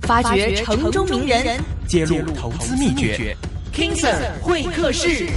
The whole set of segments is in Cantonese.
發掘城中名人， 揭露投資秘訣。 King Sir 會客室。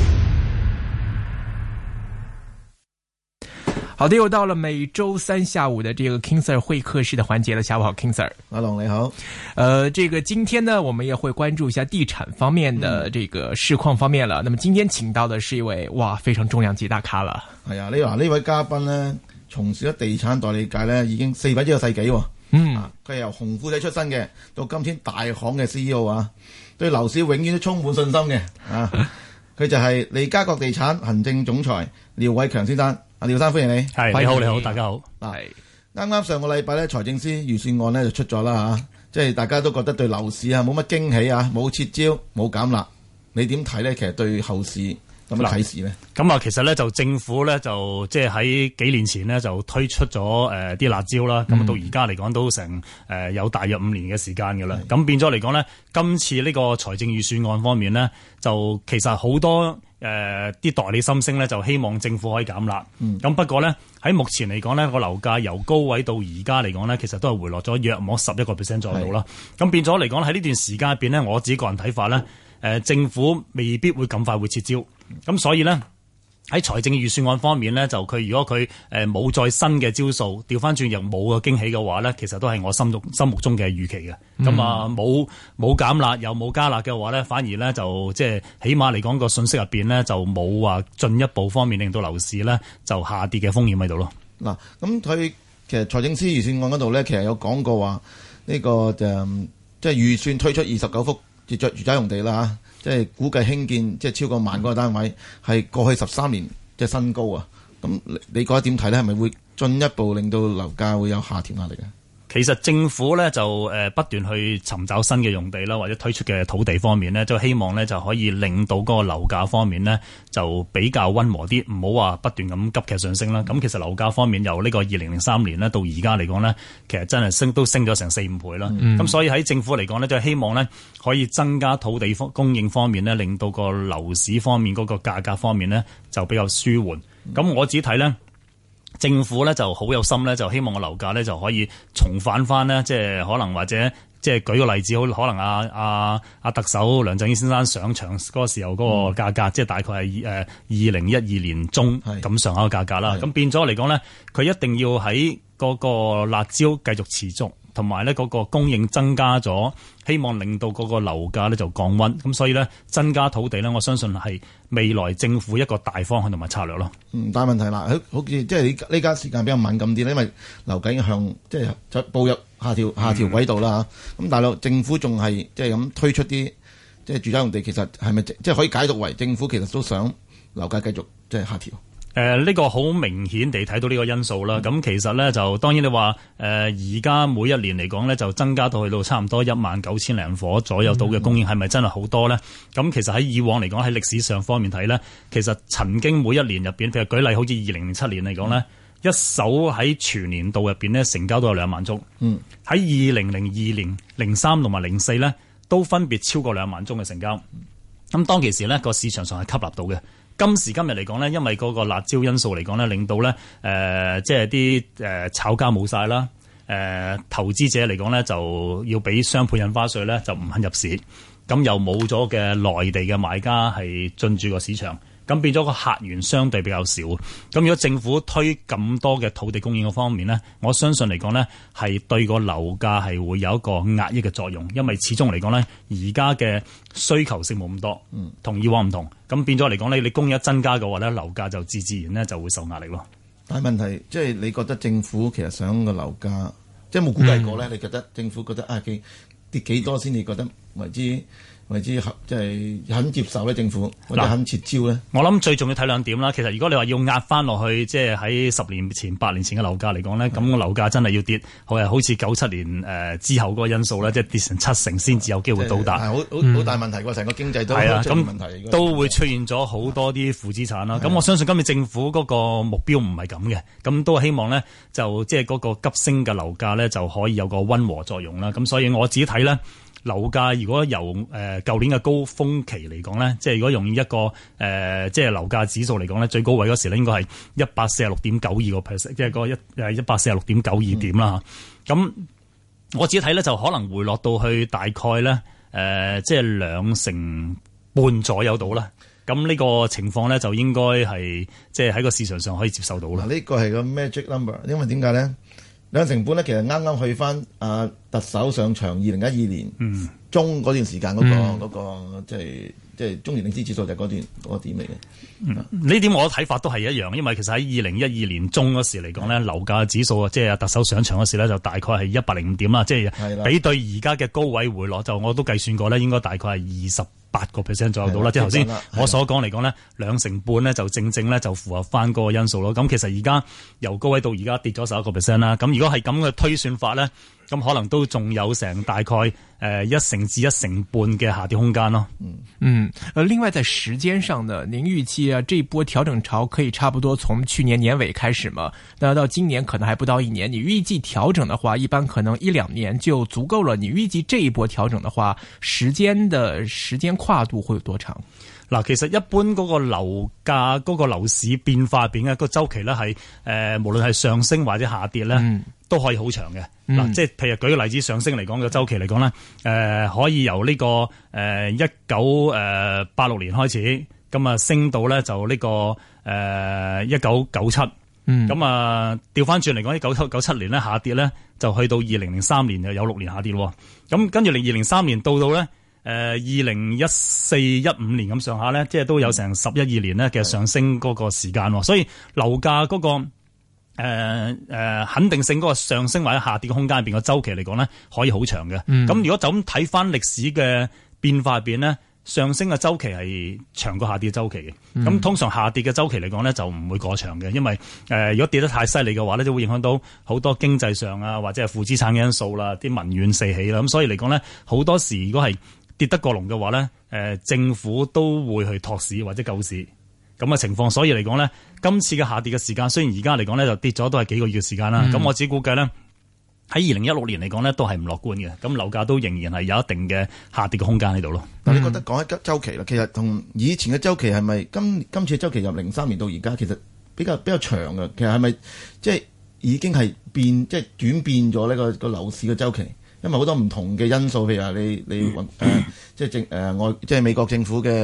好的，又到了每周三下午的這個 King Sir 會客室的環節了。下午好 ，King Sir。 阿龍你好。 這個今天呢，我們也會關注一下地產方面的這個市況方面了。那麼今天請到的是一位非常重量級大咖了。 係啊，你話呢位嘉賓呢，從事咗地產代理界呢，已經400幾個世紀。佢係由紅褲仔出身嘅，到今天大行嘅 CEO 啊，對樓市永遠都充滿信心嘅啊。佢就係利嘉閣地產行政總裁廖偉強先生。阿廖生歡迎你。 係，你好，大家好。 嗱，啱啱上個禮拜咧，財政司預算案咧就出咗啦吓，即係大家都覺得對樓市啊冇乜驚喜啊，冇撤招，冇減辣，你點睇咧？其實對後市有乜啟示咧？ 咁啊，其實咧就政府咧就即係喺幾年前呢，就推出咗啲辣招啦，咁到而家嚟講都成有大約5年嘅時間㗎啦。咁變咗嚟講咧，今次呢個財政預算案方面呢，就其實好多啲代理心聲咧，就希望政府可以減辣。咁不過咧喺目前嚟講呢，個樓價由高位到而家嚟講呢，其實都係回落咗約莫11% 左右啦。咁變咗嚟講喺呢段時間入邊呢，我自己個人睇法咧，政府未必會咁快會撤招。咁所以呢，喺財政預算案方面呢，就佢如果佢冇再新嘅招數，調翻轉又冇個驚喜嘅話呢，其實都係我心目中嘅預期嘅。咁啊冇減辣又冇加辣嘅話呢，反而呢，就即係起碼嚟講個信息入邊呢，就冇話進一步方面令到樓市呢就下跌嘅風險喺度咯。 嗱，咁佢其實財政司預算案嗰度呢，其實有講過話呢個即係預算推出29幅住宅用地啦嚇。即係估計興建即係超過1萬個單位，係過去13年即係新高啊！咁你覺得點睇咧？係咪會進一步令到樓價會有下調壓力嘅？ 其實政府咧就不斷去尋找新嘅用地啦，或者推出嘅土地方面呢，就希望呢就可以令到嗰個樓價方面呢就比較溫和啲，唔好話不斷咁急劇上升啦。咁其實樓價方面由呢個2003年呢到而家嚟講呢，其實真係都升咗成4-5倍啦。咁所以喺政府嚟講呢，就希望呢可以增加土地供應方面呢，令到個樓市方面嗰個價格方面呢就比較舒緩。咁我只睇呢。政府咧就好有心咧，就希望個樓價咧就可以重返翻呢，即係可能或者即係舉個例子，好可能阿特首梁振英先生上場嗰個時候嗰個價格，即係大概係2012年中咁上下嘅價格啦。咁變咗嚟講咧，佢一定要喺嗰個辣招繼續持續，同埋咧嗰個供應增加咗，希望令到嗰個樓價咧就降溫。咁所以咧增加土地咧，我相信係未來政府一個大方向同埋策略咯。 但係問題啦，好似即係你呢家時間比較敏感啲，因為樓價已經向即係就步入下調軌道啦嚇。咁大陸政府仲係即係咁推出啲即係住宅用地，其實係咪即係可以解讀為政府其實都想樓價繼續即係下調？ 呢個好明顯地睇到呢個因素啦。咁其實咧就當然你話而家每一年嚟講咧就增加到去到差唔多19000零伙左右到嘅供應，係咪真係好多咧？咁其實喺以往嚟講喺歷史上方面睇咧，其實曾經每一年入邊，譬如舉例好似2007年嚟講咧，一手喺全年度入邊咧成交都有2萬宗。喺2002年、03同埋04咧都分別超過2萬宗嘅成交。咁當其時咧個市場上係吸納到嘅。今時今日嚟講呢，因為嗰個辣椒因素嚟講呢，令到呢即係啲炒家冇晒啦，投資者嚟講呢，就要俾雙倍印花稅呢，就唔肯入市，咁又冇咗嘅內地嘅買家係進駐個市場，咁變咗個客源相對比較少。咁如果政府推咁多嘅土地供應嘅方面呢，我相信嚟講呢，係對個樓價係會有一個壓抑嘅作用，因為始終嚟講呢，而家嘅需求性冇咁多，同以往唔同。咁變咗嚟講呢，你供應一增加嘅話呢，樓價就自然呢就會受壓力咯。 但係問題即係你覺得政府其實想個樓價，即係冇估計過呢？你覺得政府覺得跌幾多先至覺得為之即係肯接受咧？政府或者肯撤招咧？我諗最重要睇2點啦。其實如果你話要壓翻落去，即係喺10年前、8年前嘅樓價嚟講咧，咁個樓價真係要跌，好似97年之後嗰個因素咧，即係跌成70%先至有機會到達。 好大問題喎！成個經濟都係啊， 咁問題都會出現咗好多啲負資產啦。咁我相信今次政府嗰個目標唔係咁嘅，咁都希望咧就即係嗰個急升嘅樓價咧就可以有個溫和作用啦。咁所以我自己睇咧。樓價如果由舊年嘅高峰期嚟講咧，即係如果用一個即係樓價指數嚟講咧，最高位嗰時咧應該係146.92%，即係個146.92點啦。咁我自己睇咧就可能回落到去大概咧即係2.5%左右到啦。咁呢個情況咧就應該係即係喺個市場上可以接受到啦。 呢個係個 magic number， 因為點解咧？2%咧其實啱啱去翻特首上場2012年中嗰段時間嗰個即係中原領先指數就係嗰個點嚟嘅。 呢點我嘅睇法都係一樣，因為其實喺2012年中嗰時嚟講咧，樓價指數即係特首上場嗰時咧就大概係105點啦，即係比對而家嘅高位回落就我都計算過咧，應該大概係28% 左右到啦。即係頭先我所講嚟講咧，2.5%咧就正正咧就符合翻嗰個因素咯。咁其實而家由高位到而家跌咗11%啦。咁如果係咁嘅推算法咧，咁可能都仲有成大概1%至1.5%嘅下跌空間咯。 另外在時間上呢，您預計這一波調整潮可以差不多從去年年尾開始嘛？那到今年可能還不到1年。你預計調整的話，一般可能1-2年就足夠了。你預計這一波調整的話，時間跨度會有多長？ 嗱，其實一般嗰個樓價嗰個樓市變化入邊嘅個周期咧係無論係上升或者下跌咧，都可以好長嘅。嗱，即係譬如舉個例子，上升嚟講嘅周期嚟講咧，可以由呢個1986年開始，咁啊升到咧就呢個1997。咁啊調翻轉嚟講，1997年咧下跌咧，就去到2003年就有6年下跌喎。咁跟住2003年到咧2014-15年咁上下咧，即係都有成11-12年咧嘅上升嗰個時間。所以樓價嗰個肯定性嗰個上升或者下跌嘅空間入邊嘅周期嚟講咧，可以好長嘅。咁如果就咁睇翻歷史嘅變化入邊咧，上升嘅周期係長過下跌嘅周期嘅。咁通常下跌嘅周期嚟講咧就唔會過長嘅，因為如果跌得太犀利嘅話咧，就會影響到好多經濟上啊或者係負資產嘅因素啦，啲民怨四起啦。咁所以嚟講咧，好多時如果係跌得過龍嘅話咧，政府都會去托市或者救市咁嘅情況。所以嚟講咧，今次嘅下跌嘅時間雖然而家嚟講咧就跌咗都係幾個月嘅時間啦。咁我只估計咧喺2016年嚟講咧都係唔樂觀嘅。咁樓價都仍然係有一定嘅下跌嘅空間喺度咯。 但你覺得講一周期啦，其實同以前嘅周期係咪今次嘅周期由03年到而家其實比較長嘅？其實係咪即係已經係即係轉變咗呢個樓市嘅周期？因為好多唔同嘅因素，譬如話即係美國政府嘅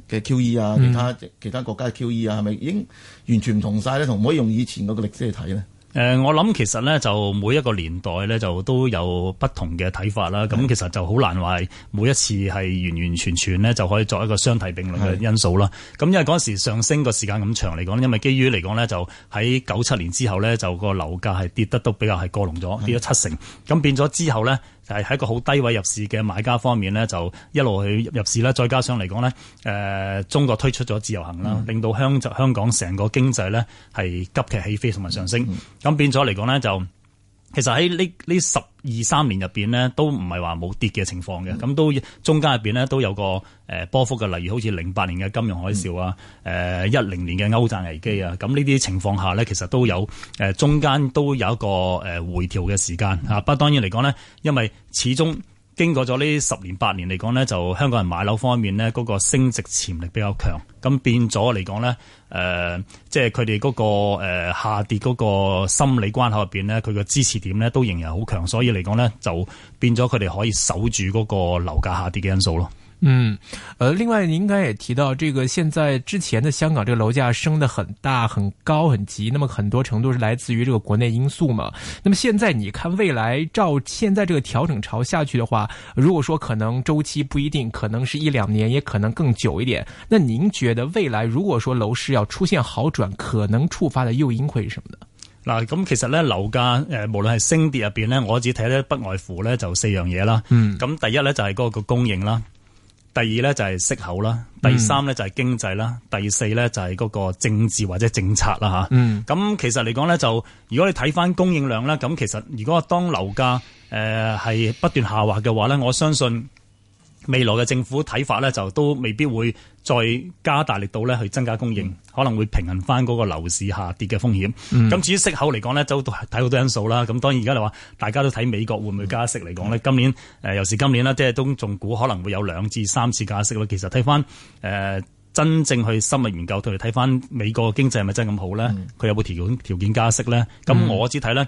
QE 啊，其他國家嘅 QE 啊，係咪已經完全唔同晒咧？同唔可以用以前嗰個歷史去睇咧？ 我諗其實咧就每一個年代咧就都有不同嘅睇法啦。咁其實就好難話係每一次係完完全全咧就可以作一個相提並論嘅因素啦。咁因為嗰時上升個時間咁長嚟講，因為基於嚟講咧就喺97年之後咧就個樓價係跌得都比較係過龍咗，跌咗70%。咁變咗之後咧就係喺一個好低位入市嘅買家方面咧就一路去入市啦。再加上嚟講咧中國推出咗自由行啦，令到香港成個經濟咧係急劇起飛同埋上升。咁變咗嚟講咧，就其實喺呢12-13年入邊咧，都唔係話冇跌嘅情況嘅。咁都中間入邊咧都有個波幅嘅，例如好似08年嘅金融海嘯啊，10年嘅歐債危機啊。咁呢啲情況下咧，其實都有中間都有一個回調嘅時間啊。不過當然嚟講咧，因為始終經過咗呢10年8年嚟講咧，就香港人買樓方面咧嗰個升值潛力比較強，咁變咗嚟講咧，即係佢哋嗰個下跌嗰個心理關口入邊咧，佢嘅支持點咧都仍然好強，所以嚟講咧就變咗佢哋可以守住嗰個樓價下跌嘅因素咯。 另外您應該也提到，這個現在之前的香港這個樓價升得很大、很高、很急，那麼很多程度是來自於這個國內因素嘛。那麼現在你看未來照現在這個調整潮下去的話，如果說可能周期不一定，可能是1-2年，也可能更久一點。那您覺得未來如果說樓市要出現好轉，可能觸發的誘因會是什麼呢？ 嗱，咁其實咧樓價無論係升跌入邊咧，我只睇咧不外乎咧就4樣嘢啦。咁第一咧就係嗰個供應啦。第二咧就係息口啦，第三咧就係經濟啦，第四咧就係嗰個政治或者政策啦吓。咁其實嚟講咧，就如果你睇翻供應量咧，咁其實如果當樓價係不斷下滑嘅話咧，我相信未來嘅政府睇法咧就都未必會再加大力度咧去增加供應，可能會平衡翻嗰個樓市下跌嘅風險。咁至於息口嚟講咧，都睇好多因素啦。咁當然而家你話大家都睇美國會唔會加息嚟講咧，今年尤其今年啦，即係都仲估可能會有2至3次加息咯。其實睇翻真正去深入研究，同埋睇翻美國嘅經濟係咪真係咁好咧？佢有冇條件加息咧？咁我只睇咧。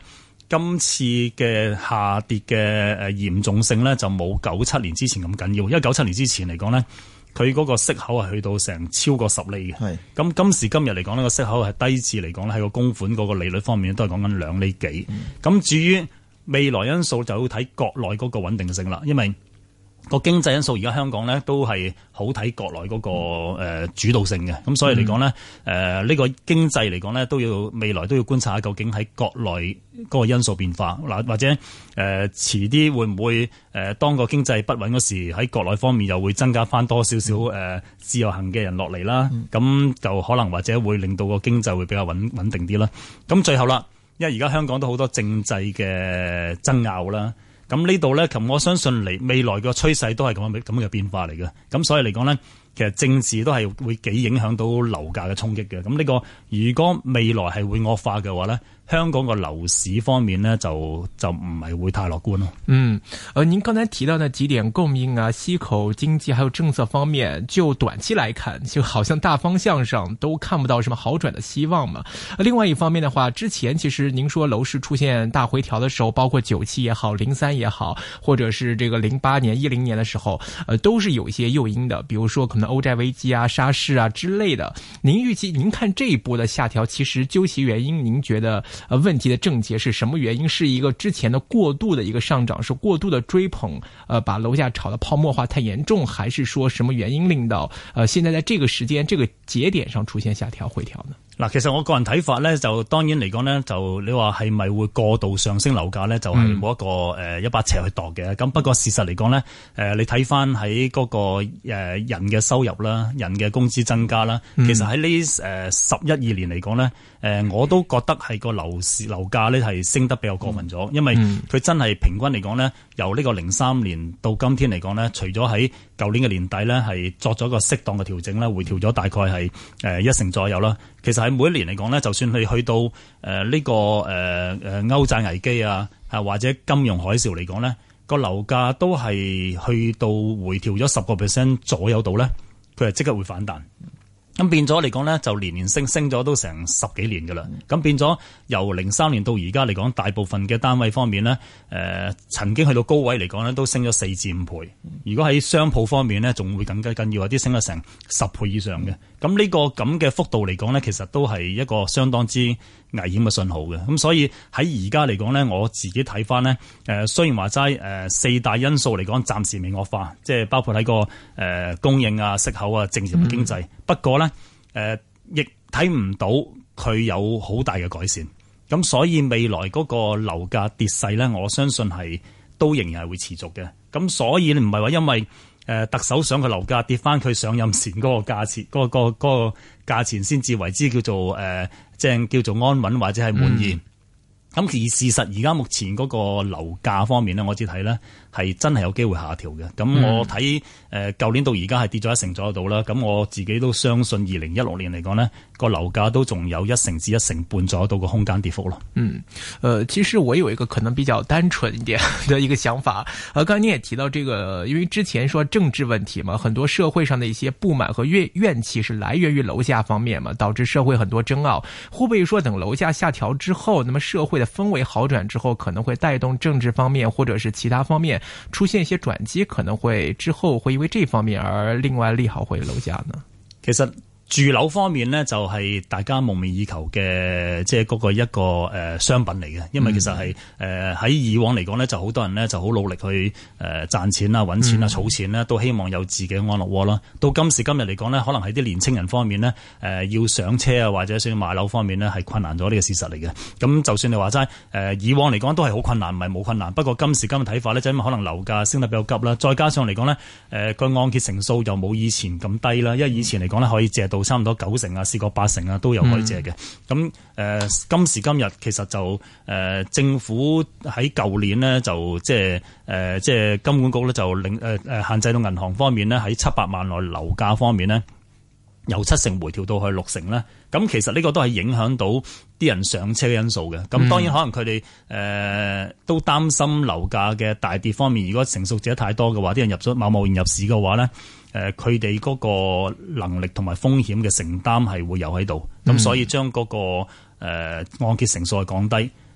今次嘅下跌嘅嚴重性咧，就冇97年之前咁緊要，因為97年之前嚟講咧，佢嗰個息口係去到成超過10厘嘅。係咁今時今日嚟講呢個息口係低至嚟講咧，喺個供款嗰個利率方面都係講緊2厘幾。咁至於未來因素就要睇國內嗰個穩定性啦，因為個經濟因素而家香港咧都係好睇國內嗰個主導性嘅，咁所以嚟講咧呢個經濟嚟講咧都要未來都要觀察下究竟喺國內嗰個因素變化嗱，或者遲啲會唔會當個經濟不穩嗰時喺國內方面又會增加翻多少少自由行嘅人落嚟啦，咁就可能或者會令到個經濟會比較穩定啲啦。咁最後啦，因為而家香港都好多政制嘅爭拗啦。咁呢度咧，我相信未來個趨勢都係咁嘅變化嚟嘅。咁所以嚟講咧，其實政治都係會幾影響到樓價嘅衝擊嘅。咁呢個如果未來係會惡化嘅話咧，香港個樓市方面呢，就唔係會太樂觀咯。 您剛才提到的幾點供應啊、息口、經濟還有政策方面，就短期來看，就好像大方向上都看不到什麼好轉的希望嘛。另外一方面的話，之前其實您說樓市出現大回調的時候，包括97也好、03也好，或者是這個08年、10年的時候，都是有一些誘因的，比如說可能歐債危機啊、沙士啊之類的。您預計，您看這一波的下調，其實究其原因，您覺得問題的症結是什麼原因？是一個之前的過度的一個上漲，是過度的追捧，把樓價炒得泡沫化太嚴重，還是說什麼原因令到現在在這個時間、這個節點上出現下調回調呢？ 嗱，其實我個人睇法咧，就當然嚟講咧，就你話係咪會過度上升樓價咧，就係冇一個一把尺去度嘅。咁不過事實嚟講咧，你睇翻喺嗰個人嘅收入啦、人嘅工資增加啦，其實喺呢11-12年嚟講咧，我都覺得係個樓價咧係升得比較過分咗，因為佢真係平均嚟講咧，由呢個03年到今天嚟講咧，除咗喺舊年嘅年底咧係作咗個適當嘅調整啦，回調咗大概係1成左右啦。其實喺每一年嚟講咧，就算你去到呢個歐債危機啊，或者金融海嘯嚟講咧，個樓價都係去到回調咗10% 左右度咧，佢係即刻會反彈。咁變咗嚟講咧，就年年升咗都成10幾年噶啦。咁變咗由03年到而家嚟講，大部分嘅單位方面咧，曾經去到高位嚟講咧，都升咗4至5倍。如果喺商鋪方面咧，仲會更加緊要，有啲升咗成10倍以上嘅。咁呢個咁嘅幅度嚟講咧，其實都係一個相當之危險嘅信號嘅。咁所以喺而家嚟講咧，我自己睇翻咧，雖然話齋4大因素嚟講暫時未惡化，即係包括喺個供應啊、息口啊、政治同經濟。不過咧，亦睇唔到佢有好大嘅改善。咁所以未來嗰個樓價跌勢咧，我相信係都仍然係會持續嘅。咁所以唔係話因為特首想佢樓價跌翻佢上任前嗰個價錢，嗰個價錢先至為之叫做即係叫做安穩或者係滿意。咁而事實而家目前嗰個樓價方面咧，我只睇咧係真係有機會下調嘅。咁我睇舊年到而家係跌咗1成左右度啦。咁我自己都相信2016年嚟講咧，個樓價都仲有1成至1成半左右度個空間跌幅咯。 其實我有一個可能比較單純一點的一個想法。剛才你也提到這個，因為之前說政治問題嘛，很多社會上的一些不滿和怨氣是來源於樓價方面嘛，導致社會很多爭拗。會不會說等樓價下調之後，那麼社會的氛圍好轉之後，可能會帶動政治方面或者是其他方面出現一些轉機，可能會之後會因為這方面而另外利好回樓價呢？ 其實住樓方面呢，就係大家夢寐以求嘅，即係嗰個一個商品嚟嘅。因為其實係喺以往嚟講呢，就好多人呢就好努力去賺錢啊、揾錢啊、儲錢啦，都希望有自己嘅安樂窩啦。到今時今日嚟講呢，可能喺啲年青人方面呢，要上車啊或者想要買樓方面呢，係困難咗呢個事實嚟嘅。咁就算你話齋以往嚟講都係好困難，唔係冇困難。不過今時今日睇法呢，就因為可能樓價升得比較急啦，再加上嚟講呢，個按揭成數又冇以前咁低啦。因為以前嚟講呢，可以借到差唔多9成啊，試過8成啊，都有可以借嘅。咁今時今日其實就政府喺舊年呢，就即係金管局咧就限制到銀行方面呢，喺700萬內樓價方面呢，由7成回調到去6成咧。咁其實呢個都係影響到啲人上車嘅因素嘅。咁當然可能佢哋都擔心樓價嘅大跌方面，如果成熟者太多嘅話，啲人貿然入市嘅話咧，佢哋嗰個能力同埋風險嘅承擔係會有喺度。咁所以將嗰個按揭成數係降低。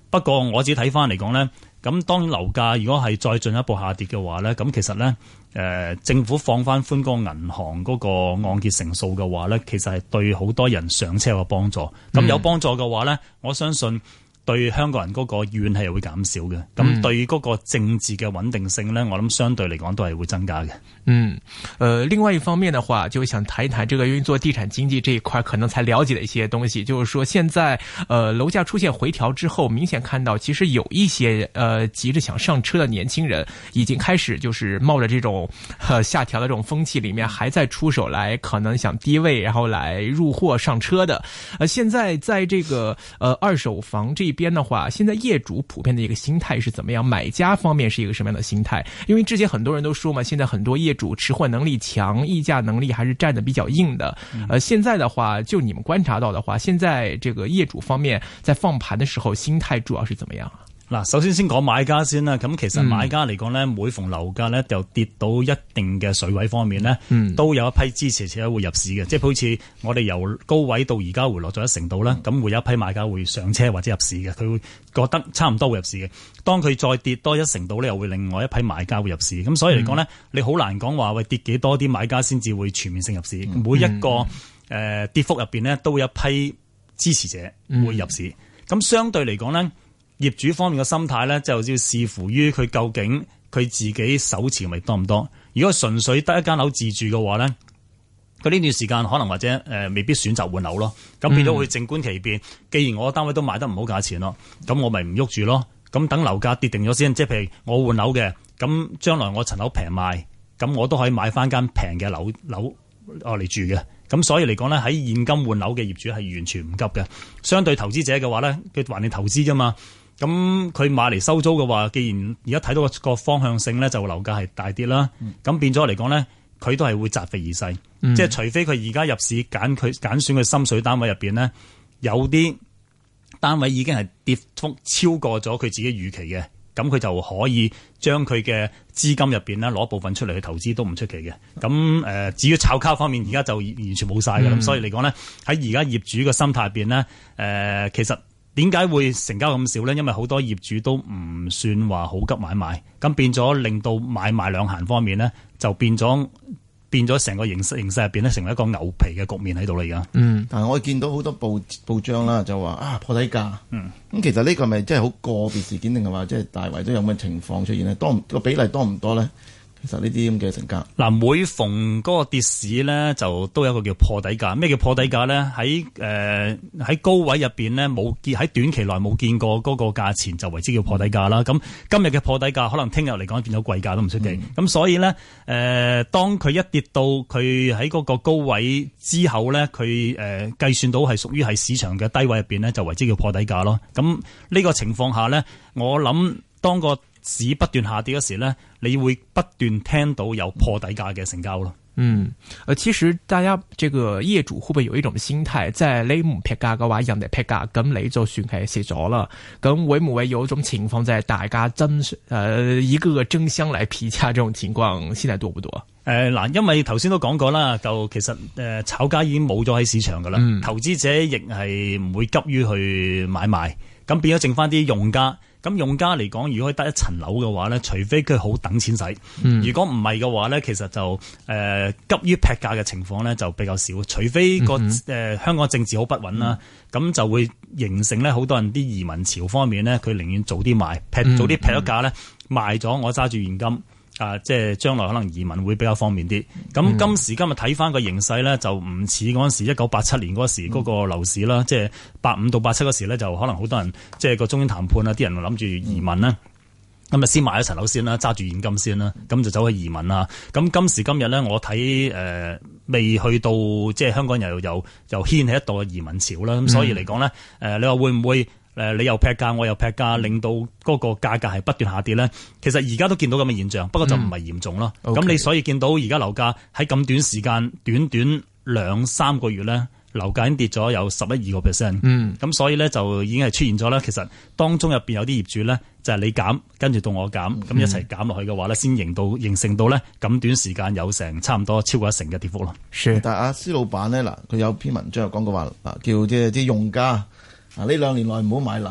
不過我自己睇翻嚟講咧，咁當然樓價如果係再進一步下跌嘅話咧，咁其實咧政府放翻寬嗰個銀行嗰個按揭成數嘅話咧，其實係對好多人上車有幫助。咁有幫助嘅話咧，我相信對香港人嗰個怨氣係會減少嘅，咁對嗰個政治嘅穩定性呢，我諗相對嚟講都係會增加嘅。 另外一方面的話，就想談一談這個因為做地產經濟這一塊可能才了解的一些東西，就是說現在樓價出現回調之後，明顯看到其實有一些急着想上車的年輕人已經開始就是冒着這種下調的這種風氣裡面，還在出手來可能想低位然後來入貨上車的。現在在這個二手房這邊的話，現在業主普遍的一個心態是怎麼樣？買家方面是一個什麼樣的心態？因為之前很多人都說嘛，現在很多業主持貨能力強，議價能力還是站得比較硬的。現在的話，就你們觀察到的話，現在這個業主方面在放盤的時候，心態主要是怎麼樣？ 嗱，首先講買家先啦。咁其實買家嚟講咧，每逢樓價咧就跌到一定嘅水位方面咧，都有一批支持者會入市嘅。即係好似我哋由高位到而家回落咗1成度啦，咁會有一批買家會上車或者入市嘅。佢會覺得差唔多會入市嘅。當佢再跌多1成度咧，又會另外一批買家會入市。咁所以嚟講咧，你好難講話喂跌幾多啲買家先至會全面性入市。每一個跌幅入邊咧，都會有一批支持者會入市。咁相對嚟講咧，業主方面嘅心態咧，就要視乎於佢究竟佢自己手持咪多唔多。如果純粹得一間樓自住嘅話咧，佢呢段時間可能或者未必選擇換樓咯。咁變咗會靜觀其變。既然我單位都賣得唔好價錢咯，咁我咪唔喐住咯。咁等樓價跌定咗先，即係譬如我換樓嘅，咁將來我層樓平賣，咁我都可以買翻間平嘅樓嚟住嘅。咁所以嚟講咧，喺現金換樓嘅業主係完全唔急嘅。相對投資者嘅話咧，佢還你投資啫嘛。咁佢買嚟收租嘅話，既然而家睇到個方向性咧，就樓價係大跌啦。咁變咗嚟講咧，佢都係會擇肥而噬。即係除非佢而家入市揀選佢心水單位入邊咧，有啲單位已經係跌幅超過咗佢自己預期嘅，咁佢就可以將佢嘅資金入邊咧攞部分出嚟去投資都唔出奇嘅。咁至於炒卡方面，而家就完全冇晒嘅。咁所以嚟講咧，喺而家業主嘅心態入邊咧，其實點解會成交咁少咧？因為好多業主都唔算話好急買賣，咁變咗令到買賣兩閒方面咧，就變咗成個形勢入邊咧，成為一個牛皮嘅局面喺度啦而家。 但係我見到好多報章啦，就話破底價。咁其實呢個係咪真係好個別事件，定係話即係大圍都有咁嘅情況出現咧？個比例多唔多咧？其實呢啲咁嘅成交，嗱， 每逢嗰個跌市咧，就都有一個叫破底價。咩叫破底價咧？喺高位入邊咧，喺短期內冇見過嗰個價錢，就為之叫破底價啦。咁今日嘅破底價，可能聽日嚟講變咗貴價都唔出奇。咁所以咧，當佢一跌到佢喺嗰個高位之後咧，佢計算到係屬於係市場嘅低位入邊咧，就為之叫破底價咯。咁呢個情況下咧，我諗當個市不斷下跌嗰時咧，你會不斷聽到有破底價嘅成交咯。 其實大家這個業主會不會有一種心態，即係你唔劈價嘅話，人哋劈價，咁你就算係蝕咗啦。咁會唔會有一種情況，就係大家一個個爭相嚟劈價，這種情況現在多唔多？ 嗱，因為頭先都講過啦，就其實炒家已經冇咗喺市場噶啦，投資者亦係唔會急於去買賣，咁變咗剩翻啲用家。咁用家嚟講，如果得一層樓嘅話咧，除非佢好等錢使，如果唔係嘅話咧，其實就急於劈價嘅情況咧就比較少。除非香港政治好不穩啦，咁就會形成咧好多人啲移民潮方面咧，佢寧願早啲賣，早啲劈咗價咧，賣咗我揸住現金。即係將來可能移民會比較方便啲。咁今時今日睇翻個形勢咧，就唔似嗰陣時1987年嗰時嗰個樓市啦。即係85到87嗰時咧，就可能好多人即係個中英談判啊，啲人諗住移民啦。咁啊先買一層樓先啦，揸住現金先啦，咁就走去移民啦。咁今時今日咧，我睇未去到即係香港又掀起一度嘅移民潮啦。咁所以嚟講咧，你話會唔會？你又劈價，我又劈價，令到嗰個價格係不斷下跌咧。其實而家都見到咁嘅現象，不過就唔係嚴重咯。咁你所以見到而家樓價喺咁短時間，短2-3個月咧，樓價已經跌咗有11-12%。咁所以咧就已經係出現咗啦。其實當中入邊有啲業主咧，就係你減，跟住到我減，咁一齊減落去嘅話咧，先形成到咧咁短時間有成差唔多超過1成嘅跌幅咯。 但係阿施老闆咧，嗱，佢有篇文章又講過話，叫即係啲用家。呢2年內唔好買樓，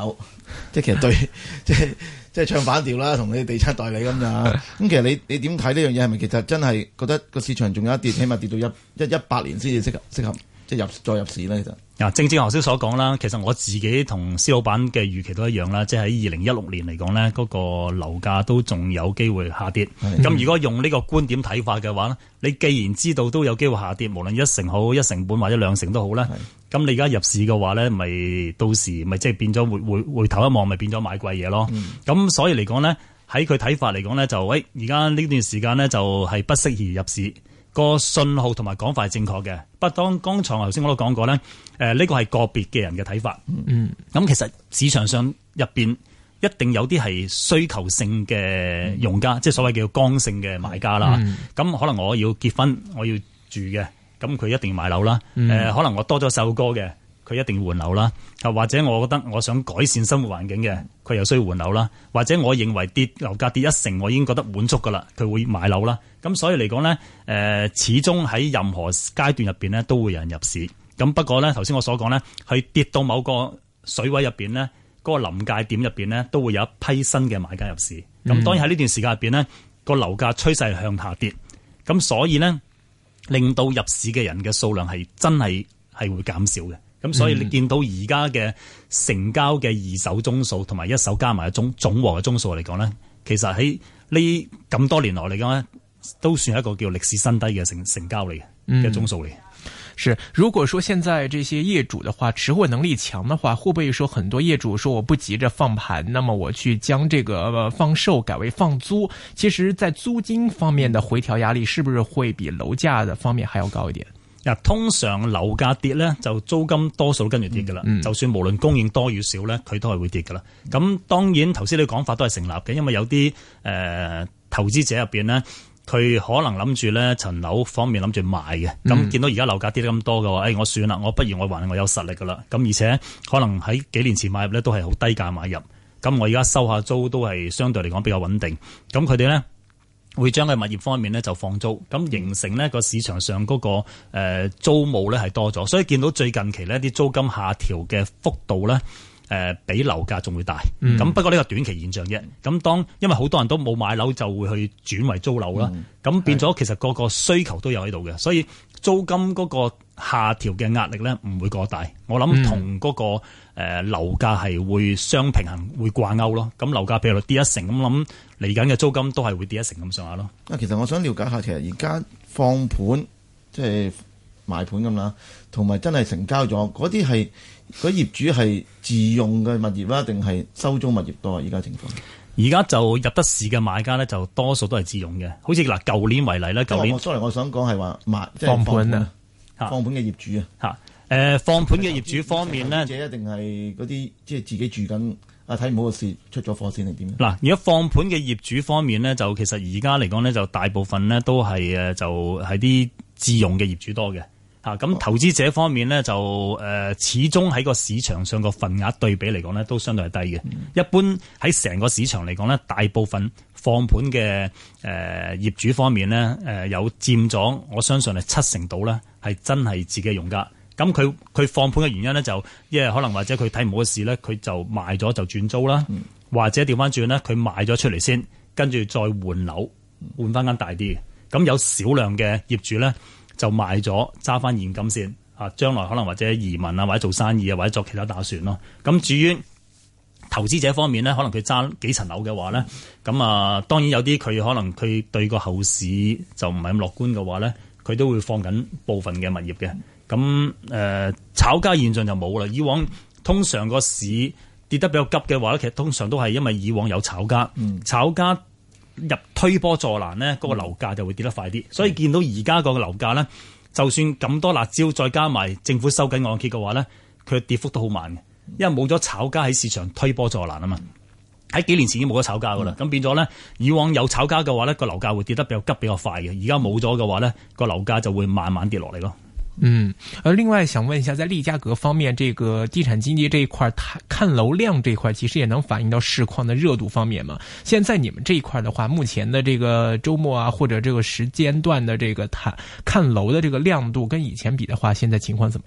即係其實對即係唱反調啦，同你地產代理咁咋。咁其實你點睇呢樣嘢？係咪其實真係覺得個市場仲有一跌，起碼跌到18年先至適合即係再入市咧？其實正正頭先所講啦，其實我自己同施老闆嘅預期都一樣啦，即係喺2016年嚟講呢，嗰個樓價都仲有機會下跌。咁如果用呢個觀點睇法嘅話，你既然知道都有機會下跌，無論1成好、1成半或者2成都好啦，咁你而家入市嘅話呢，咪到時咪即係變咗回頭一望，咪變咗買貴嘢咯。咁所以嚟講呢，喺佢睇法嚟講呢，就而家呢段時間呢，就係不適宜入市。個信號同埋講法係正確嘅，不過當剛才頭先我都講過咧，呢個係個別嘅人嘅睇法。咁其實市場上入邊一定有啲係需求性嘅用家，即係所謂叫剛性嘅買家啦。咁可能我要結婚，我要住嘅，咁佢一定要買樓啦。可能我多咗首歌嘅，佢一定要換樓啦。或者我覺得我想改善生活環境嘅，佢又需要換樓啦。或者我認為樓價跌1成，我已經覺得滿足噶啦，佢會買樓啦。咁所以嚟講呢，始終喺任何階段入邊呢，都會有人入市。咁不過呢，頭先我所講呢，係跌到某個水位入邊呢，嗰個臨界點入邊呢，都會有一批新嘅買家入市。咁當然喺呢段時間入邊呢，個樓價趨勢係向下跌。咁所以呢，令到入市嘅人嘅數量係真係會減少嘅。咁所以你見到而家嘅成交嘅二手宗數同埋一手加埋總和嘅宗數嚟講呢，其實喺呢咁多年來嚟講呢，都算係一個叫歷史新低嘅成交嚟嘅宗數嚟。 是，如果說現在這些業主的話，持貨能力強的話，會不會說很多業主說我不急着放盤，那麼我去將這個放售改為放租？其實在租金方面的回調壓力，是不是會比樓價的方面還要高一點？ 通常樓價跌咧，就租金多數都跟住跌噶啦。就算無論供應多與少咧，佢都係會跌噶啦。咁當然頭先你講法都係成立嘅，因為有啲投資者入邊咧，佢可能諗住咧層樓方面諗住賣嘅。咁見到而家樓價跌得咁多嘅話，我算啦，我不如我還我有實力噶啦。咁而且可能喺幾年前買入咧都係好低價買入，咁我而家收下租都係相對嚟講比較穩定。咁佢哋咧會將佢物業方面咧就放租，咁形成呢個市場上嗰個租務咧係多咗，所以見到最近期呢啲租金下調嘅幅度咧比樓價仲會大。咁不過呢個短期現象啫。咁因為好多人都冇買樓，就會去轉為租樓啦。咁變咗其實個個需求都有喺度嘅，所以租金嗰個下調嘅壓力咧唔會過大。我諗同嗰個樓價係會相平衡，會掛鈎咯。咁樓價譬如跌1成，咁諗嚟緊嘅租金都係會跌1成咁上下咯。 其實我想了解下，其實而家放盤即係賣盤咁啦，同埋真係成交咗嗰啲係嗰業主係自用嘅物業啦，定係收租物業多啊？而家情況？ 而家就入得市嘅買家咧，就多數都係自用嘅。好似嗱，舊年為例咧，舊年我想講係話即係放盤啊， 放盤嘅業主啊， 放盤嘅業主方面咧， 一定係嗰啲即係自己住緊睇唔好嘅事出咗貨先定點？ 嗱，如果放盤嘅業主方面咧，就其實而家嚟講咧，就大部分咧都係就係啲自用嘅業主多嘅。咁投資者方面咧，就始終喺個市場上個份額對比嚟講咧，都相對係低嘅。一般喺成個市場嚟講咧，大部分放盤嘅業主方面咧，有佔咗，我相信係7成度咧，係真係自己用家。咁佢放盤嘅原因咧，就因為可能或者佢睇唔好嘅事咧，佢就賣咗就轉租啦，或者調翻轉咧，佢賣咗出嚟先，跟住再換樓，換翻間大啲嘅。咁有少量嘅業主咧，就賣咗揸翻現金先，將來可能或者移民啊，或者做生意啊，或者作其他打算咯。咁至於投資者方面咧，可能佢揸幾層樓嘅話咧，咁當然有啲佢可能佢對個後市就唔係咁樂觀嘅話咧，佢都會放緊部分嘅物業嘅。咁炒家現象就冇啦。以往通常個市跌得比較急嘅話咧，其實通常都係因為以往有炒家，炒家入推波助瀾呢，嗰個樓價就會跌得快啲。所以見到而家個樓價呢，就算咁多辣椒，再加埋政府收緊按揭嘅話呢，佢跌幅都好慢嘅，因為冇咗炒家喺市場推波助瀾啊嘛。喺幾年前已經冇咗炒家噶啦，咁變咗呢，以往有炒家嘅話呢，個樓價會跌得比較急比較快嘅。而家冇咗嘅話呢，個樓價就會慢慢跌落嚟咯。 另外想問一下，在利嘉閣方面，這個地產經紀這一塊看樓量這一塊，其實也能反映到市況的熱度方面嘛？現在你們這一塊的話，目前的這個週末啊，或者這個時間段的這個看樓的這個亮度，跟以前比的話，現在情況怎麼樣？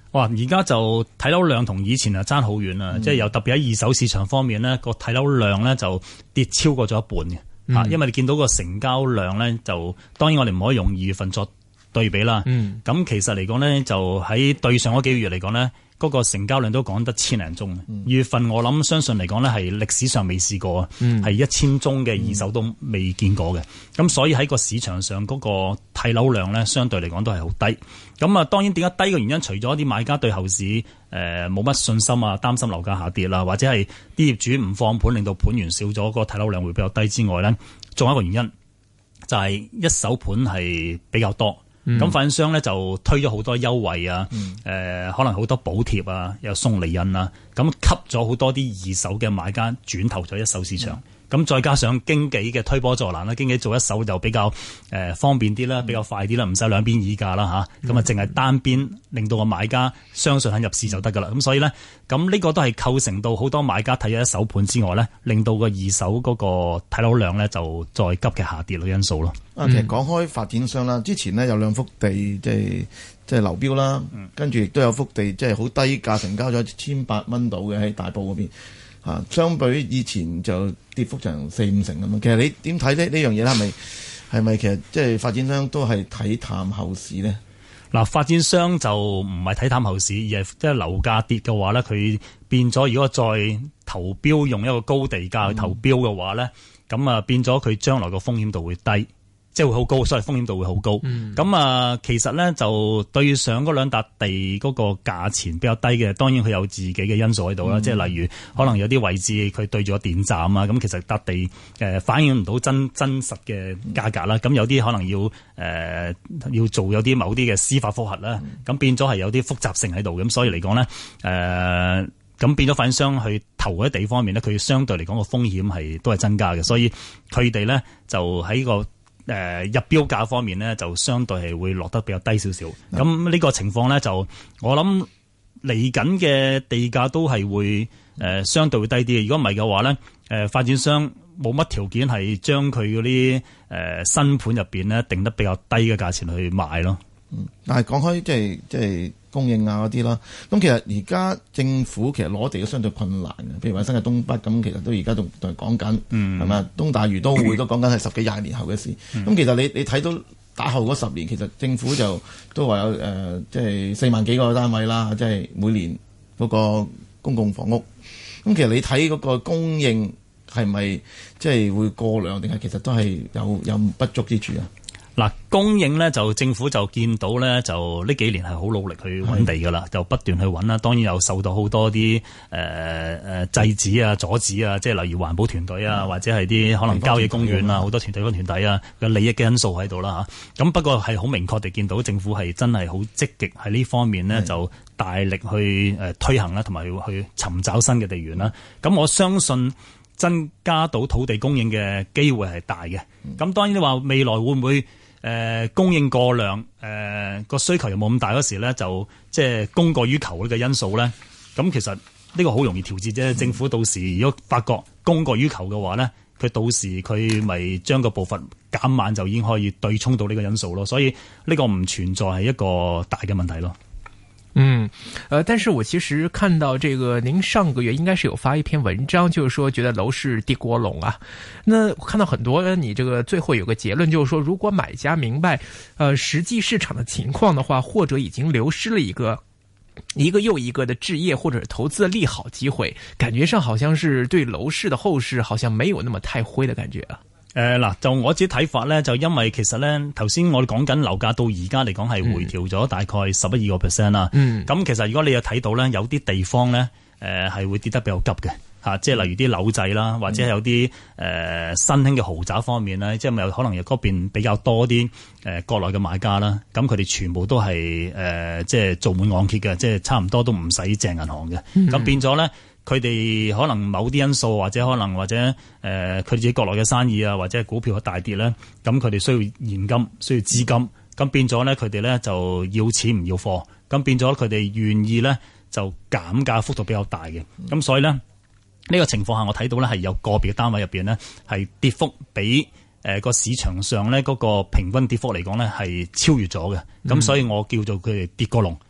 哇！而家就睇樓量同以前啊爭好遠啦，即係又特別喺二手市場方面呢，個睇樓量咧就跌超過咗一半嘅，因為你見到個成交量咧就當然我哋唔可以用2月份作對比啦。咁其實嚟講咧就喺對上嗰幾個月嚟講咧，嗰個成交量都講得千零宗。2月份我諗相信嚟講咧係歷史上未試過啊，係1000宗嘅二手都未見過嘅。咁所以喺個市場上嗰個睇樓量咧，相對嚟講都係好低。咁啊，當然點解低嘅原因，除咗啲買家對後市冇乜信心啊，擔心樓價下跌啦，或者係啲業主唔放盤，令到盤源少咗，個睇樓量會比較低之外咧，仲有一個原因就係一手盤係比較多。咁發展商咧就推咗好多優惠啊，可能好多補貼啊，又送厘印啊，咁吸咗好多啲二手嘅買家轉投咗一手市場。咁再加上經紀嘅推波助瀾啦，經紀做一手就比較方便啲啦，比較快啲啦，唔使兩邊議價啦嚇，咁啊淨係單邊令到個買家相信肯入市就得噶啦。咁所以咧，咁呢個都係構成到好多買家睇咗一手盤之外咧，令到個二手嗰個睇樓量咧就再急嘅下跌嘅因素咯。 其實講開發展商啦，之前呢有2幅地即係流標啦，跟住亦都有幅地即係好低價成交咗1800蚊到嘅喺大埔嗰邊。相比於以前就跌幅成4-5成咁樣。其實你點睇呢樣嘢咧？係咪其實即係發展商都係睇淡後市呢？ 嗱，發展商就唔係睇淡後市，而係即係樓價跌嘅話咧，佢變咗如果再投標用一個高地價去投標嘅話咧，咁啊變咗佢將來個風險度會低。即係會好高，所以風險度會好高。咁其實咧就對上嗰兩笪地嗰個價錢比較低嘅，當然佢有自己嘅因素喺度啦。即係例如可能有啲位置佢對住個電站啊，咁其實笪地反映唔到真實嘅價格啦。咁有啲可能要做有啲某啲嘅司法覆核啦，咁變咗係有啲複雜性喺度。咁所以嚟講咧，咁變咗發展商去投嗰啲地方面咧，佢相對嚟講個風險都係增加嘅。所以佢哋咧就喺個入標價方面呢，就相對係會落得比較低少少。咁呢個情況呢，就我諗嚟緊嘅地價都係會相對會低啲嘅。如果唔係嘅話呢，發展商冇乜條件係將佢嗰啲新盤入邊呢定得比較低嘅價錢去賣咯。 但係講開即係供應啊嗰啲啦，咁其實而家政府其實攞地都相對困難嘅，譬如話新界東北咁，其實都而家仲講緊，係咪東大嶼都會都講緊係10幾20年後嘅事。咁其實你睇到打後嗰10年，其實政府都話有即係4萬幾個單位啦，即係每年嗰個公共房屋。咁其實你睇嗰個供應係咪即係會過量，定係其實都係有不足之處啊？ 嗱，供應咧就政府就見到咧，就呢幾年係好努力去揾地噶啦，就不斷去揾啦。當然又受到好多啲制止啊、阻止啊，即係例如環保團隊啊，或者係啲可能郊野公園啊，好多地方團體啊嘅利益嘅因素喺度啦嚇。咁不過係好明確地見到政府係真係好積極喺呢方面呢，就大力去推行啦，同埋去尋找新嘅地緣啦。咁我相信增加到土地供應嘅機會係大嘅。咁當然你話未來會唔會供應過量，個需求又冇咁大嗰時咧，就即係供過於求呢個因素咧。咁其實呢個好容易調節啫。政府到時如果發覺供過於求嘅話咧，佢到時佢咪將個步伐減慢，就已經可以對沖到呢個因素咯。所以呢個唔存在係一個大嘅問題咯。 但是我其實看到這個，您上個月應該是有發一篇文章，就是說覺得樓市跌過籠啊。那我看到很多，你這個最後有個結論，就是說如果買家明白，實際市場的情況的話，或者已經流失了一個又一個的置業或者投資的利好機會，感覺上好像是對樓市的後市好像沒有那麼太灰的感覺啊。 嗱，就我自己睇法咧，就因為其實咧，頭先我哋講緊樓價到而家嚟講係回調咗大概11-12% 啦。咁其實如果你有睇到咧，有啲地方咧，係會跌得比較急嘅嚇，即係例如啲樓仔啦，或者係有啲新興嘅豪宅方面咧，即係咪有可能有嗰邊比較多啲國內嘅買家啦？咁佢哋全部都係即係做滿按揭嘅，即係差唔多都唔使借銀行嘅。咁變咗咧。佢哋可能某啲因素，或者佢自己國內嘅生意啊，或者係股票嘅大跌咧，咁佢哋需要現金，需要資金，咁變咗咧，佢哋咧就要錢唔要貨，咁變咗佢哋願意咧就減價幅度比較大嘅，咁所以咧呢個情況下，我睇到咧係有個別嘅單位入邊咧係跌幅比個市場上咧嗰個平均跌幅嚟講咧係超越咗嘅，咁所以我叫做佢哋跌過籠。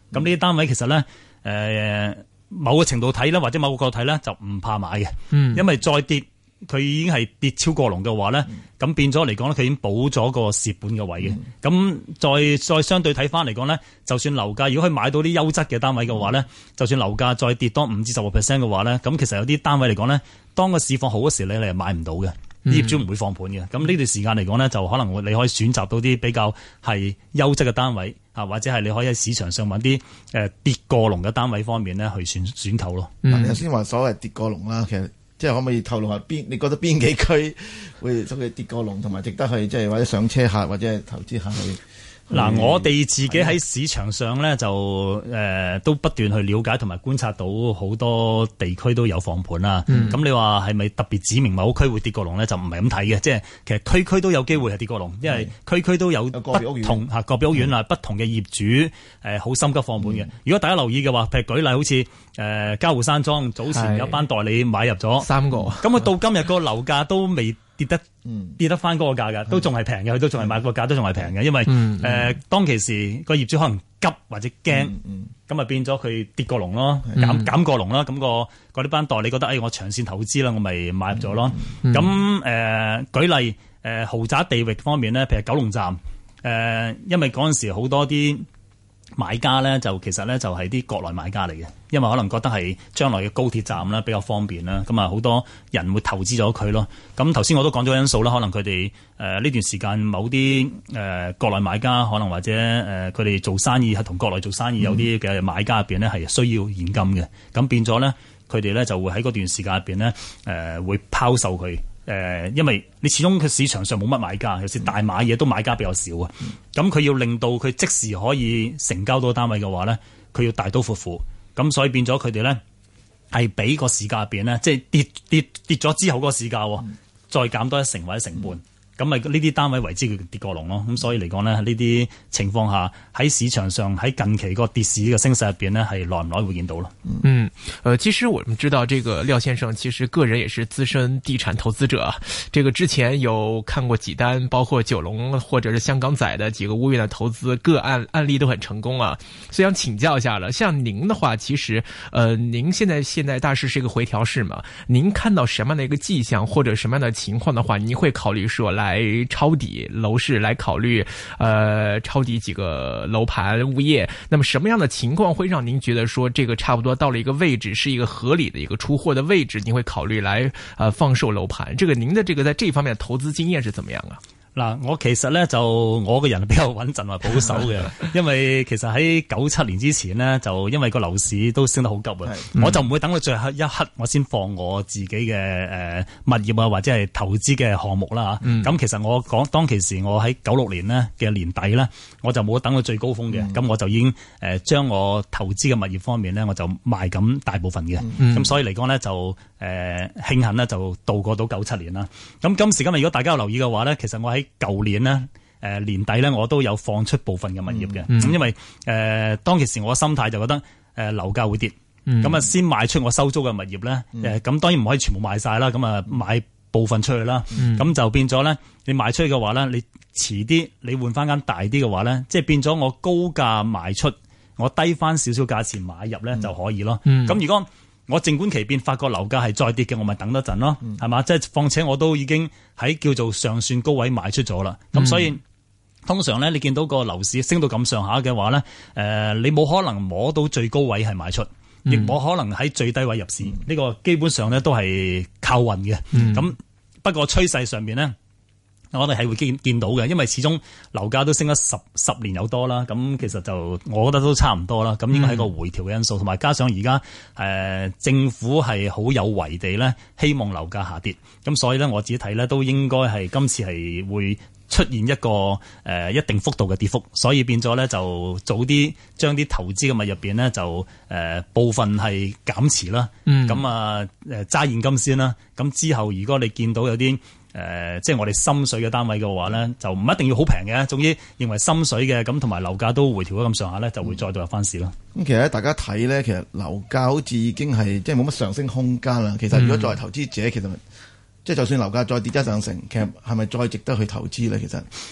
咁呢啲單位其實咧某個程度睇咧，或者某個角度睇咧，就唔怕買嘅，因為再跌。佢已經係跌超過龍嘅話咧，咁變咗嚟講咧，佢已經補咗個蝕本嘅位嘅。咁再相對睇翻嚟講咧，就算樓價如果可以買到啲優質嘅單位嘅話咧，就算樓價再跌多5至10%嘅話咧，咁其實有啲單位嚟講咧，當個市況好嗰時你係買唔到嘅，業主唔會放盤嘅。咁呢段時間嚟講咧，就可能你可以選擇到啲比較係優質嘅單位啊，或者係你可以喺市場上揾啲跌過龍嘅單位方面咧去選購咯。 你頭先話所謂跌過龍啦，其實即係可唔可以透露下你覺得邊幾區會所謂跌過龍，同埋值得去即係或者上車客或者係投資客去？ 嗱，我哋自己喺市場上咧就都不斷去了解同埋觀察到好多地區都有放盤啦。咁你話係咪特別指明某區會跌過龍咧？就唔係咁睇嘅，即係其實區區都有機會係跌過龍，因為區區都有不同個別屋苑啊，不同嘅業主好心急放盤嘅。如果大家留意嘅話，譬如舉例好似嘉湖山莊早前有一班代理買入咗3個，咁佢到今日個樓價都未跌得翻嗰個價㗎，都仲係平嘅，佢都仲係買個價都仲係平嘅，因為當其時個業主可能急或者驚，咁啊變咗佢跌過龍咯，減過龍啦，咁嗰啲班代理覺得我長線投資啦，我咪買入咗咯。咁舉例豪宅地域方面咧，譬如九龍站，因為嗰陣時好多啲買家咧就其實咧就係啲國內買家嚟嘅，因為可能覺得係將來嘅高鐵站啦比較方便啦，咁啊好多人會投資咗佢咯。咁頭先我都講咗因素啦，可能佢哋呢段時間某啲國內買家可能或者佢哋做生意係同國內做生意有啲嘅買家入邊咧係需要現金嘅，咁變咗咧佢哋咧就會喺嗰段時間入邊咧會拋售佢。因為你始終佢市場上冇乜買家，有時大買嘢都買家比較少啊。咁佢要令到佢即時可以成交到單位嘅話咧，佢要大刀闊斧。咁所以變咗佢哋咧係俾個市價入邊咧，即係跌咗之後嗰個市價，再減多1成或者1成半。咁咪呢啲單位為之佢跌過龍咯，咁所以嚟講呢，呢啲情況下喺市場上喺近期個跌市嘅升勢入邊呢，係耐唔耐會見到咯。 其實我們知道，這個廖先生其實個人也是資深地產投資者，這個之前有看過幾單，包括九龍或者是香港仔的幾個屋苑的投資個案例都很成功啊。所以想請教一下了，像您的話，其實您現在大市是一個回調市嘛？您看到什麼樣的一個跡象或者什麼樣的情況的話，您會考慮說來抄底樓市，來考慮抄底幾個樓盤物業？那麼什麼樣的情況會讓您覺得說這個差不多到了一個位置，是一個合理的一個出貨的位置，您會考慮來放售樓盤？這個您的這個在這方面的投資經驗是怎麼樣啊？ 嗱，我其實咧就我個人比較穩陣或保守嘅，因為其實喺97年之前呢，就因為個樓市都升得好急啊，我就唔會等到最後一刻我先放我自己嘅物業啊或者係投資嘅項目啦嚇。咁其實我講當其時我喺96年呢嘅年底呢，我就冇等到最高峰嘅，咁我就已經將我投資嘅物業方面呢，我就賣緊大部分嘅，咁所以嚟講呢，就慶幸呢，就度過到97年啦。咁今時今日如果大家有留意嘅話呢，其實我喺舊年呢年底呢，我都有放出部分嘅物業嘅，因為當其時我嘅心態就覺得樓價會跌，咁先賣出我收租嘅物業咧，咁當然唔可以全部賣晒啦，咁啊買部分出去啦，咁就變咗咧，你賣出去嘅話咧，你遲啲你換翻間大啲嘅話咧，即係變咗我高價賣出，我低翻少少價錢買入咧就可以咯。咁如果我靜觀其變，發覺樓價係再跌嘅，我咪等多陣咯，係嘛？即係況且我都已經喺叫做上算高位賣出咗啦。咁所以通常咧，你見到個樓市升到咁上下嘅話咧，你冇可能摸到最高位係賣出，亦冇可能喺最低位入市。呢個基本上咧都係靠運嘅。咁不過趨勢上面咧，我哋係會見到嘅，因為始終樓價都升咗十年有多啦，咁其實就我覺得都差唔多啦，咁應該係個回調嘅因素，同埋加上而家政府係好有為地咧，希望樓價下跌，咁所以咧我自己睇咧都應該係今次係會出現一個一定幅度嘅跌幅，所以變咗咧就早啲將啲投資嘅物入邊咧就部分係減持啦，咁揸現金先啦，咁之後如果你見到有啲即係我哋心水嘅單位嘅話咧，就唔一定要好平嘅，總之認為心水嘅咁，同埋樓價都回調咗咁上下咧，就會再度入翻市咯。 咁其實大家睇咧，其實樓價好似已經係即係冇乜上升空間啦。其實如果作為投資者，其實即係就算樓價再跌1-2成，其實係咪再值得去投資咧？其實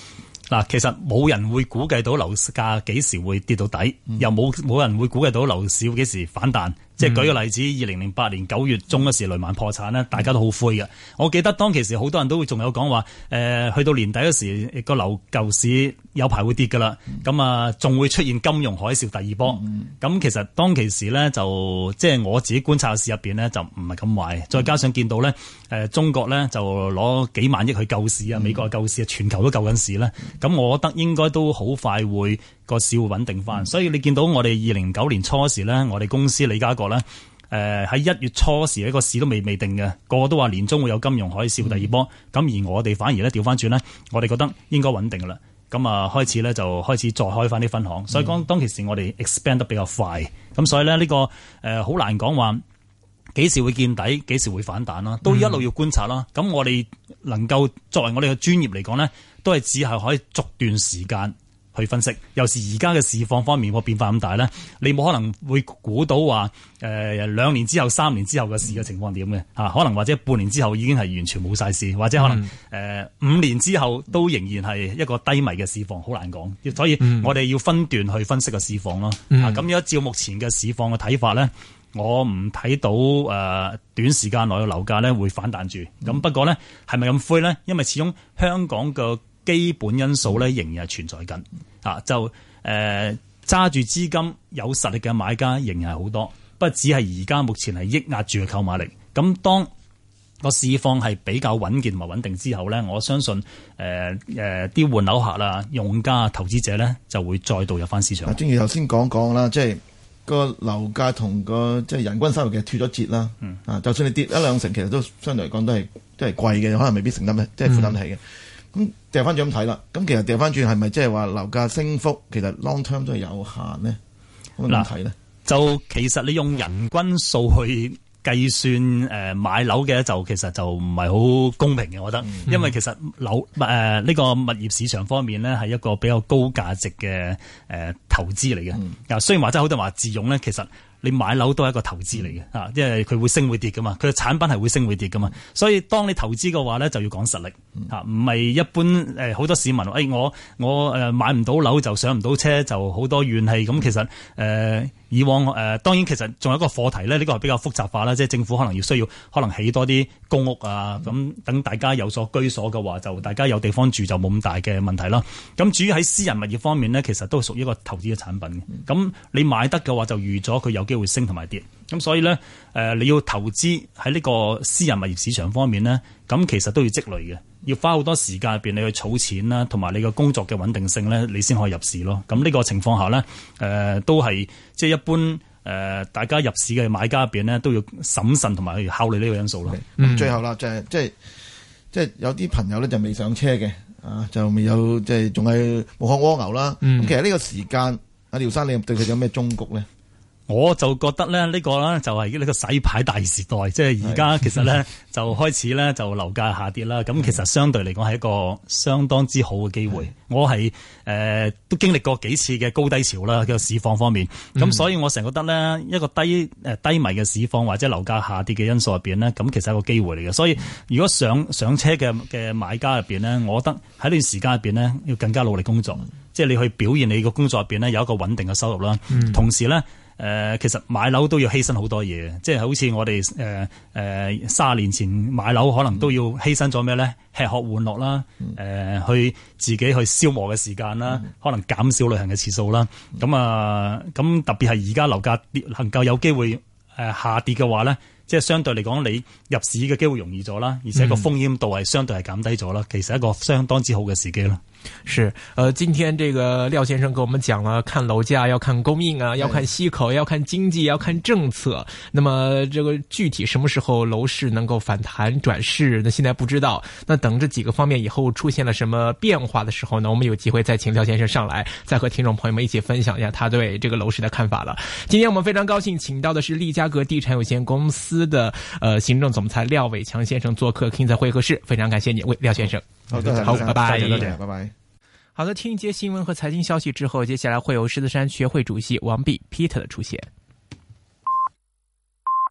嗱，其實冇人會估計到樓價幾時會跌到底，又冇人會估計到樓市會幾時反彈。即係舉個例子，2008年9月中嗰時雷曼破產咧，大家都好灰嘅。我記得當其時好多人都會仲有講話，去到年底嗰時個舊市有排會跌㗎啦。咁啊，仲會出現金融海嘯第二波。咁其實當其時咧，就即係我自己觀察嘅市入邊咧，就唔係咁壞。再加上見到咧，中國咧就攞幾萬億去救市啊，美國救市啊，全球都救緊市咧。咁我覺得應該都好快會個市會穩定翻。所以你見到我哋2009年初時咧，我哋公司李家國咧，喺1月初時呢個市都未定嘅，個個都話年中會有金融海嘯第二波。咁而我哋反而咧調翻轉咧，我哋覺得應該穩定噶啦。咁啊開始咧就開始再開翻啲分行。所以當其時我哋 expand 得比較快。咁所以咧呢個好難講話幾時會見底，幾時會反彈啦，都一路要觀察啦。咁我哋能夠作為我哋嘅專業嚟講咧，都係只係可以逐段時間去分析。尤其而家嘅市況方面個變化咁大咧，你冇可能會估到話2年之後、3年之後嘅市嘅情況點嘅嚇，可能或者半年之後已經係完全冇晒市，或者可能5年之後都仍然係一個低迷嘅市況，好難講。所以我哋要分段去分析個市況咯。咁如果照目前嘅市況嘅睇法咧，我唔睇到短時間內嘅樓價咧會反彈住。咁不過咧係咪咁灰咧？因為始終香港嘅基本因素咧仍然係存在緊。就揸住資金有實力嘅買家仍然係好多，不過只係而家目前係抑壓住嘅購買力。咁當個市況係比較穩健同埋穩定之後咧，我相信啲換樓客啦、用家、投資者咧就會再度入翻市場。 正如頭先講啦，即係個樓價同個即係人均收入嘅脫咗節啦。就算你跌1-2成，其實都相對嚟講都係貴嘅，可能未必承擔即係負擔得起嘅。咁掉翻轉咁睇啦，咁其實掉翻轉係咪即係話樓價升幅其實 long term 都係有限呢？咁點睇呢？ 就其實你用人均數去計算買樓嘅就其實就唔係好公平嘅，我覺得，因為其實樓呢個物業市場方面呢係一個比較高價值嘅投資嚟嘅。雖然話真係好多人話自用呢，其實你買樓都係一個投資嚟嘅，因為佢會升會跌噶嘛，佢嘅產品係會升會跌噶嘛，所以當你投資嘅話咧，就要講實力，唔係一般好多市民話，我買唔到樓就上唔到車，就好多怨氣。咁其實以往當然其實仲有一個課題咧，呢個係比較複雜化啦，即係政府可能需要起多啲公屋啊，咁等大家有所居所嘅話，就大家有地方住就冇咁大嘅問題啦。咁至於喺私人物業方面呢，其實都係屬於一個投資嘅產品嘅。咁你買得嘅話，就預咗佢有機會升同埋跌。咁所以呢，你要投資喺呢個私人物業市場方面呢，咁其實都要積累嘅，要花好多時間入邊你去儲錢啦，同埋你個工作嘅穩定性呢，你先可以入市咯。咁呢個情況下呢，都係即係一般大家入市嘅買家入邊呢，都要審慎同埋去考慮呢個因素咯。 最後啦，就係即係有啲朋友呢就未上車嘅，就未有即係仲係無殼蝸牛啦。咁其實呢個時間，阿廖生你對佢有咩忠告呢？ 我就覺得咧，呢個咧就係呢個洗牌大時代，即係而家其實咧就開始咧就樓價下跌啦。咁其實相對嚟講係一個相當之好嘅機會。我係都經歷過幾次嘅高低潮啦，個市況方面。咁所以我成日覺得咧，一個低迷嘅市況或者樓價下跌嘅因素入邊咧，咁其實係一個機會嚟嘅。所以如果上車嘅買家入邊咧，我覺得喺呢段時間入邊咧要更加努力工作，即係你去表現你個工作入邊咧有一個穩定嘅收入啦。同時咧。其實買樓都要犧牲好多嘢，即係好似我哋30年前買樓可能都要犧牲咗咩咧？吃喝玩樂啦，去自己去消磨嘅時間啦，可能減少旅行嘅次數啦。咁特別係而家樓價能夠有機會下跌嘅話咧，即係相對嚟講你入市嘅機會容易咗啦，而且個風險度係相對係減低咗啦。其實一個相當之好嘅時機啦。 是，今天這個廖先生跟我們講了，看樓價要看供應啊，要看息口，要看經濟，要看政策。那麼這個具體什麼時候樓市能夠反彈轉勢，那現在不知道。那等這幾個方面以後出現了什麼變化的時候呢，我們有機會再請廖先生上來，再和聽眾朋友們一起分享一下他對這個樓市的看法了。今天我們非常高興請到的是利嘉閣地產有限公司的行政總裁廖偉強先生做客 King 在會客室，非常感謝你，廖先生。 好， 拜拜， 拜拜。 好的，聽一節新聞和財經消息之後，接下來會有獅子山學會主席王弼 Peter 的出現。